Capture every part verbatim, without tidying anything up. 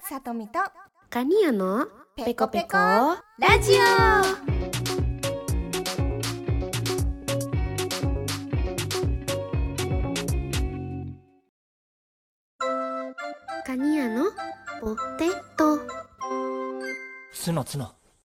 さとみとカニヤのペコペコラジオ。 カニヤのポテト。 ツノツノ。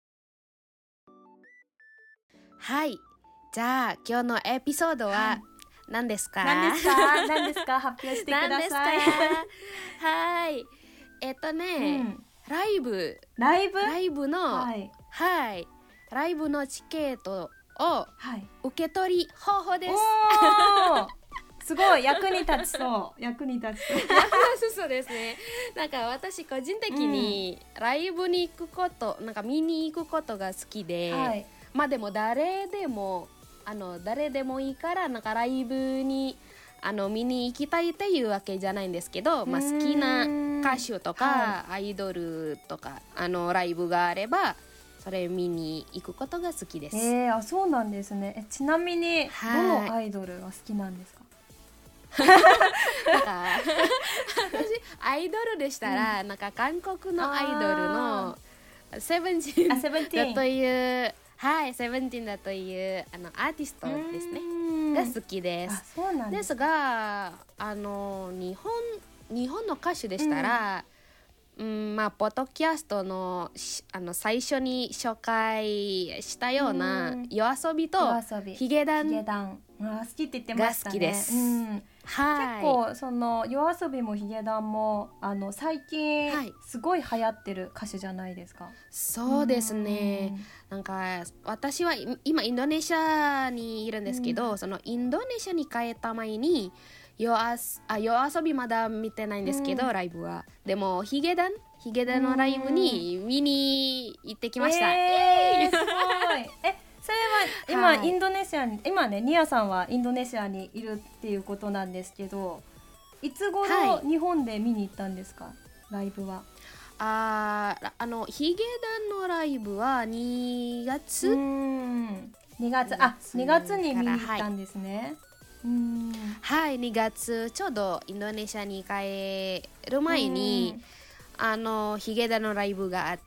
はい、じゃあ今日のエピソードは何ですか？ 何ですか何ですか発表してください。 何ですか？はい、えっとね、うん、ライブライブライブの、 はい、 はい、ライブのチケットを受け取り方法です。 おすごい役に立ちそう役に立ちそうそうですね。なんか私個人的にライブに行くこと、なんか見に行くことが好きで、はい、まあでも誰でもあの誰でもいいからなんかライブにあの見に行きたいっていうわけじゃないんですけど、まあ、好きな歌手とか、はい、アイドルとかあのライブがあればそれ見に行くことが好きです。 えー、あそうなんですね。えちなみにどのアイドルが好きなんですか？ なんか私アイドルでしたら、うん、なんか韓国のアイドルのセブンティーンだというはいセブンティーンだというあのアーティストですねが好きです。 あそうなんです。 ですがあの日本日本の歌手でしたら、うんうん、まあポッドキャストのあの最初に紹介したようなYOASOBIとヒゲダンが好きって言ってましたね。 好きです。 うんはい、結構そのYOASOBIもヒゲダンもあの最近すごい流行ってる歌手じゃないですか。はい、 そうですね。なんか私は今インドネシアにいるんですけど、そのインドネシアに帰った前にYOASOBIまだ見てないんですけど、ライブはでもヒゲダンヒゲダンのライブに見に行ってきました。 えー、すごいえそれは今、はい、インドネシアに今ねニアさんはインドネシアにいるっていうことなんですけど、いつ頃日本で見に行ったんですか、はい、ライブは。 ああのヒゲダンのライブはにがつうんにがつあにがつに見に行ったんですね。はいうんはいにがつちょうどインドネシアに帰る前にあのヒゲダンのライブがあって、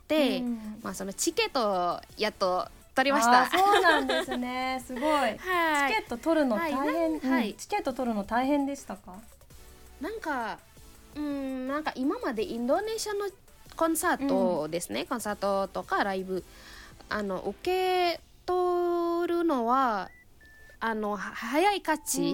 まあ、そのチケットをやっと取りました。 あそうなんですねすごい、はい、チケット取るの大変、はいはい、チケット取るの大変でしたか？ なんかうんなんか今までインドネシアのコンサートですね、うん、コンサートとかライブあの受け取るのはあの早い勝ち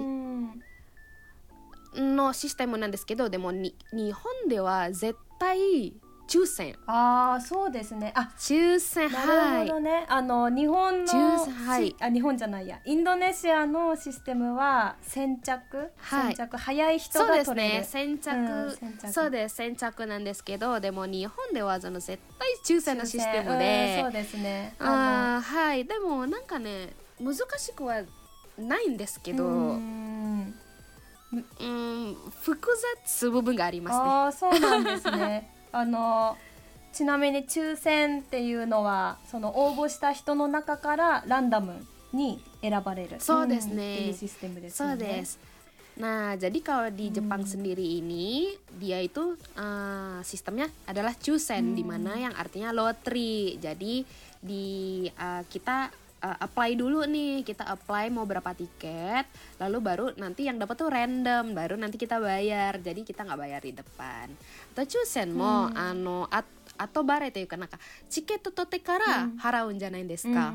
のシステムなんですけど、でもに日本では絶対抽選。 ああそうですね。あ抽選なるほどね、はい、あの日本の抽選、はい、あ日本じゃないやインドネシアのシステムは先着、はい、先着早い人が取れる。そうですね先着、うん、先着そうです先着なんですけど、でも日本ではその絶対抽選のシステムで、 うん、そうですね。 あはいでもなんかね難しくはないんですけど、うんうん複雑部分がありますね。 あそうなんですねあのちなみに抽選っていうのはその応募した人の中からランダムに選ばれるそうですね、 うん、っていうシステムですよね。 そうです。Nah jadi kalau di Jepang hmm. sendiri ini dia itu uh, sistemnya adalah chusen, hmm. di mana yang artinya lotre. Jadi di uh, kita Uh, apply dulu nih, kita apply mau berapa tiket, lalu baru nanti yang dapat tuh random, baru nanti kita bayar, jadi kita nggak bayar di depan. Atau chusen mo hmm. ano at, atau bareというかなんかチケット取ってから払うんじゃないですか、うん、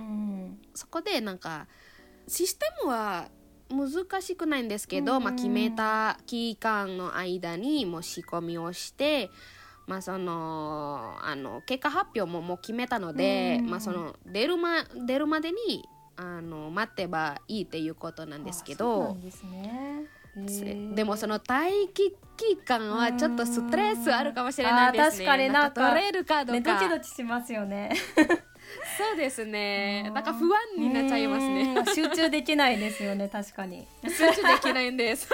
そこでなんかシステムは難しくないんですけど、うん、まあ、決めた期間の間にもう仕込みをしてまあ、そのあの結果発表ももう決めたので、まあ、その出るま、出るまでにあの待ってばいいっていうことなんですけど、そうなんですね。でもその待機期間はちょっとストレスあるかもしれないですね。 確かになんか取れるかどうか、 ね、ドキドキしますよねそうですね。なんか不安になっちゃいますね。 集中できないですよね確かに集中できないんです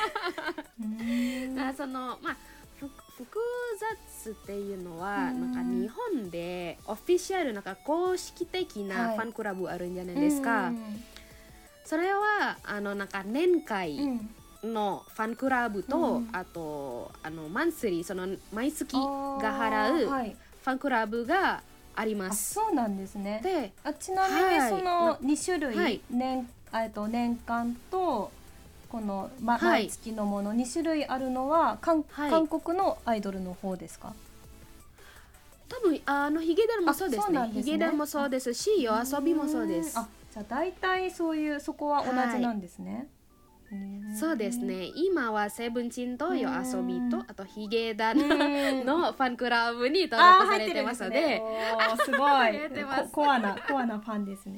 だそのまあ複雑っていうのはなんか日本でオフィシャルなんか公式的なファンクラブあるんじゃないですか、はい、それはあのなんか年会のファンクラブと、 うん、 あとあのマンスリー、その毎月があ払うーはい、 ファンクラブがありまあ、 す。 そうなんですね。 で、 あ、ちなみにはいそのに種類、 はい年えっと年間とこの、ま、 はい毎月のものに種類あるのは韓、 はい韓国のアイドルの方ですか？ 多分あのヒゲダンもそうですね。 あそうなんですねヒゲダンもそうですし、夜遊びもそうですん。あ、じゃあ大体そういうそこは同じなんですね。へーそうですね。今はセブンチンと夜遊びと、あとヒゲダンうんのファンクラブに登あー録されてますので、 入ってるんですね。おーすご入っていますこコアなコアなファンですね。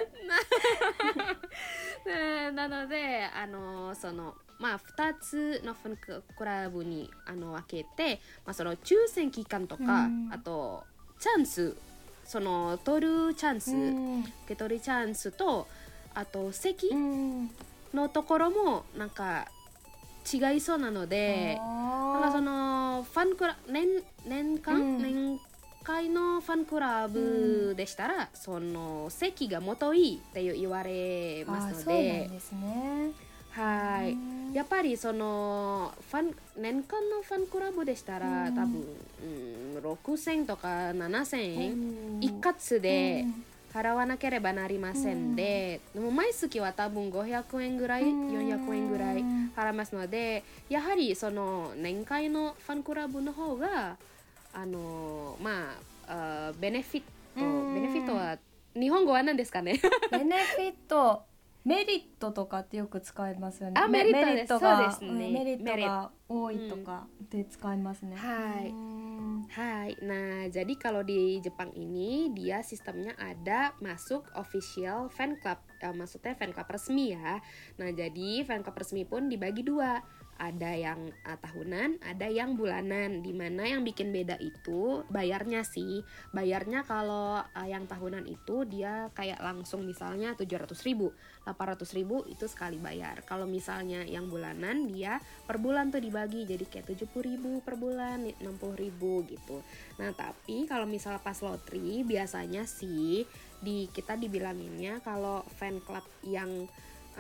ねなのであのそのまあふたつのファンクラブにあの分けて、まあ、その抽選期間とか、 うんあとチャンス、その取るチャンス、 うん受け取りチャンスと、あと席うんのところもなんか違いそうなので、なんかそのファンクラ年年間、 うん年会のファンクラブでしたら、その席がもといいって言われあますのーそうなんで、 ですね。 はい、 うんやっぱりそのファン年間のファンクラブでしたら、 うん多分、うん、ろくせんとかななせんえん、 うん一括でうん払わなければなりませんで、でも毎月は多分ごひゃくえんぐらい、 うんよんひゃくえんぐらい払いますので、やはりその年会のファンクラブの方があのまあ、あベネフィット、 うんベネフィットは日本語は何ですかね？ ベネフィット、メリットとかってよく使いますよね。 あメメリットですトがそうですねうんメリッメリットトが多いとかで使いますね。 はいうん Hai, nah jadi kalau di Jepang ini dia sistemnya ada masuk official fan club, eh, maksudnya fan club resmi ya. Nah jadi fan club resmi pun dibagi dua, ada yang uh, tahunan, ada yang bulanan. Dimana yang bikin beda itu bayarnya sih, bayarnya kalau uh, yang tahunan itu dia kayak langsung misalnya tujuh ratus ribu, delapan ratus ribu itu sekali bayar. Kalau misalnya yang bulanan dia per bulan tuh dibagi jadi kayak tujuh puluh ribu per bulan, enam puluh ribu gitu. Nah tapi kalau misalnya pas lotri biasanya sih di kita dibilanginnya kalau fan club yang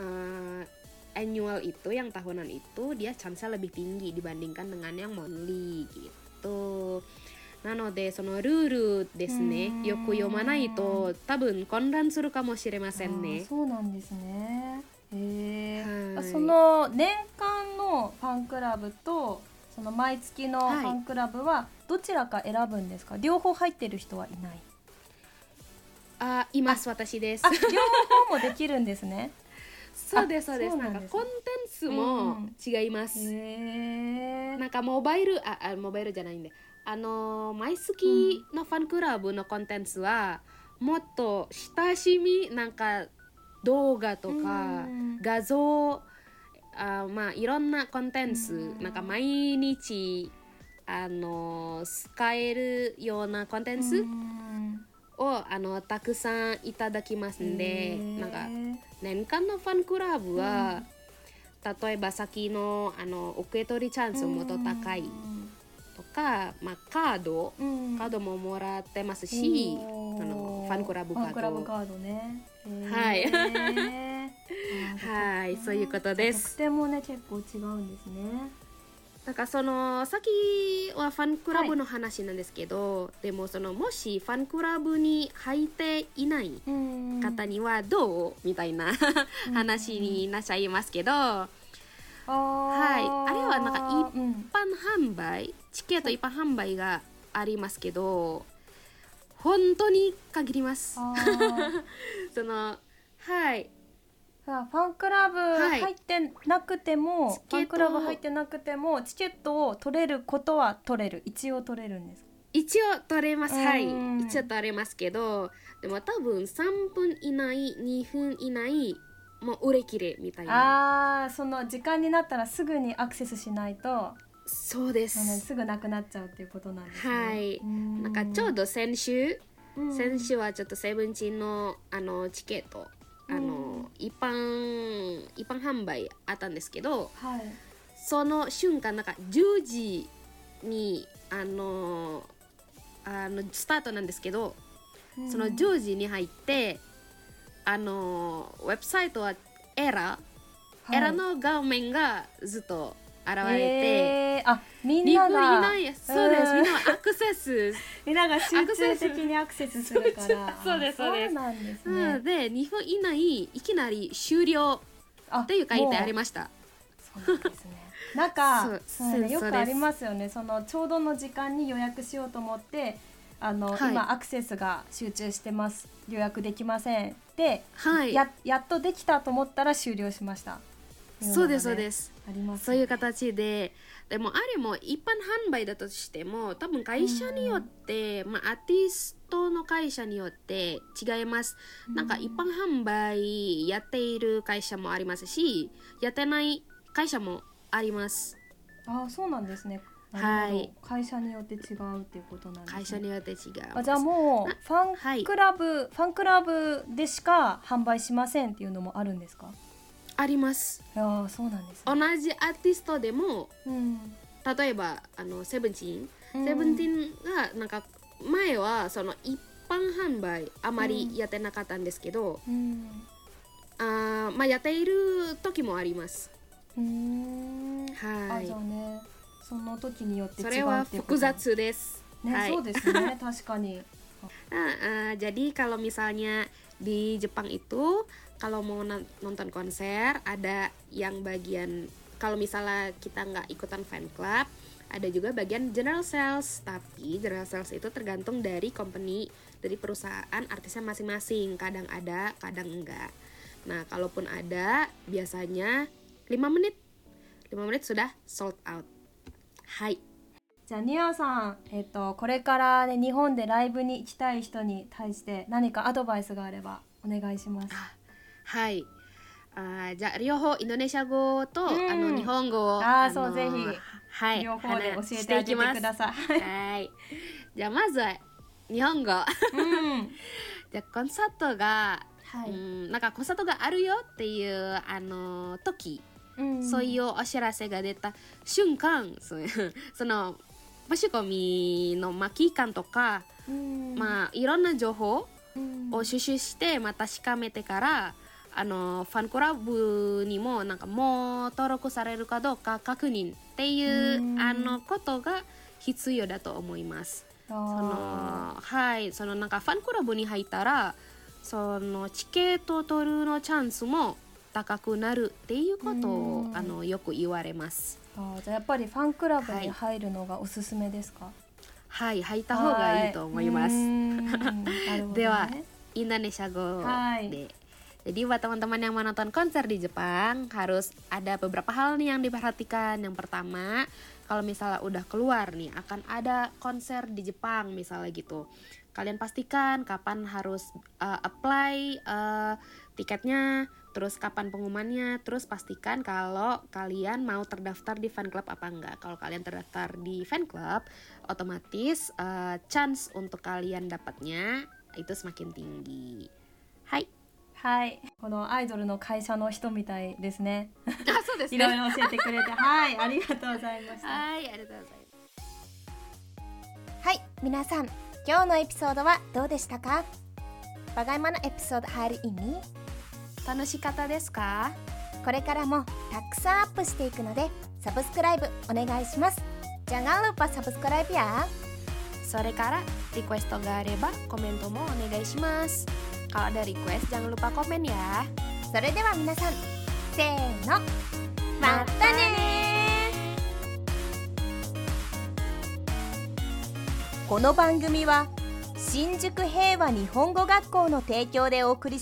uh, annual itu, yang tahunan itu dia chance-nya lebih tinggi dibandingkan dengan yang monthly gitu. なのでそのルールですね、よく読まないと多分混乱するかもしれませんね。 あーそうなんですね。へーはいその年間のファンクラブとその毎月のファンクラブはどちらか選ぶんですか？両方入ってる人はいない。 あ、います、私です。 あ、両方もできるんですね。 そうですそうです。 そうなですねなんんかコンテンツも違います。 へーなんかモバイルああモバイルじゃないんで、あの毎月のファンクラブのコンテンツはもっと親しみ、なんか動画とかうん画像、あまあいろんなコンテンツ、 うんなんか毎日あの使えるようなコンテンツうんをあのたくさんいただきますんで、 へーなんか年間のファンクラブは、例えば先のあの受け取りチャンスもっと高いとか、まあ、カード、 うんカードももらってますし、 おーあのファンクラブカードファンクラブカードね。へーはいあーはいそういうことです特典もね結構違うんですね。 なんかその先はファンクラブの話なんですけど、でもそのもしファンクラブに入っていないうん方にはどうみたいな話になっちゃいますけど、 あーはいあれはなんかうん一般販売、チケット一般販売がありますけど、本当に限ります。 あーそのはいさあファンクラブはい入ってなくても、 チケットファンクラブ入ってなくてもチケットを取れることは取れる、一応取れるんです。 一応取れます、はいうん一応取れますけど、でも多分さんぷん以内にふん以内もう売れ切れみたいな。 ああ、その時間になったらすぐにアクセスしないと、 そうであのす。 すぐなくなっちゃうっていうことなんですね。 はいうんなんかちょうど先週、 うん先週はちょっとセブンチンのあのチケットあの、一般一般販売あったんですけど、 はいその瞬間なんかじゅうじにあのあのスタートなんですけど、そのじゅうじに入ってあのウェブサイトはエラエラの顔面がずっと現れて、 えー、あみん日本ながいないそうです、みんなはアクセスみんなが集中的にアクセスするからそうですそうですそうなんですうねん、で日本以内いきなり終了あっていう書いてありましたそうなんですねなんかそうそうね、よそうですくありますよねそのちょうどの時間に予約しようと思ってあの、 はい今アクセスが集中してます予約できませんで、 はいや, やっとできたと思ったら終了しましたそうですそうですすあります、ね、 そういう形ででもあれも一般販売だとしても多分会社によって、まあ、アーティストの会社によって違います、 うんなんか一般販売やっている会社もありますしやってない会社もあります。 あそうなんですねなるほど、 はい会社によって違うっていうことなんですね会社によって違うあじゃあもうファンクラブ、ファンクラブでしか販売しませんっていうのもあるんですか？ あります。 ああそうなんです同ね、 じアーティストでもうん例えばあのセブンティーン、 うんセブンティーンがなんか前はその一般販売あまりやってなかったんですけど、 うんあまあやっている時もあります。 うーんはいあじゃあねその時によって違うそれはっていうこと複雑です。 ね、 はいそうですね確かに Nah, uh, jadi kalau misalnya di Jepang itu kalau mau nonton konser ada yang bagian kalau misalnya kita nggak ikutan fan club ada juga bagian general sales, tapi general sales itu tergantung dari company, dari perusahaan artisnya masing-masing, kadang ada kadang enggak. Nah kalaupun ada biasanya lima menit lima menit sudah sold out. Hai. じゃあニアさん、えっと、これから、ね、日本でライブに行きたい人に対して何かアドバイスがあればお願いします。 はい。あじゃあ両方インドネシア語と、 うん、 あの日本語をあのそうぜひ、 はい、 両方で教えてあげてください。 はい。じゃあまずは日本語。 うん、 じゃあコンサートが、 はい、 うんなんかコンサートがあるよっていうあの時、 うん、 そういうお知らせが出た瞬間、そその申し込みの、まあ、期間とか、 うん、 まあいろんな情報うんを収集してまた確かめてからあのファンクラブにもなんかもう登録されるかどうか確認っていううんあのことが必要だと思います。そのはいそのなんかファンクラブに入ったらそのチケットを取るのチャンスも高くなるっていうことをあのよく言われます。 あじゃあやっぱりファンクラブに入るのがおすすめですか？ はい、入った方がいいと思います。では、インドネシア語で。Jadi buat teman-teman yang mau nonton konser di Jepang harus ada beberapa hal nih yang diperhatikan. Yang pertama, kalau misalnya udah keluar nih akan ada konser di Jepang misalnya gitu. Kalian pastikan kapan harus uh, apply uh, tiketnya, terus kapan pengumumannya, terus pastikan kalau kalian mau terdaftar di fan club apa enggak. Kalau kalian terdaftar di fan club, otomatis uh, chance untuk kalian dapatnya itu semakin tinggi. Hai. はい、このアイドルの会社の人みたいですね。 あ、そうですね。 いろいろ教えてくれて、はい、ありがとうございました。 はい、ありがとうございます。 はい、皆さん、今日のエピソードはどうでしたか？ Bagaimana episode hari ini? 楽しかったですか？ これからもたくさんアップしていくので、サブスクライブお願いします。Jangan lupa subscribe ya. それからリクエストがあればコメントもお願いします。Kalau ada request jangan lupa komen ya. それでは皆さん、せーの、またね。この番組は新宿平和日本語学校の提供でお送り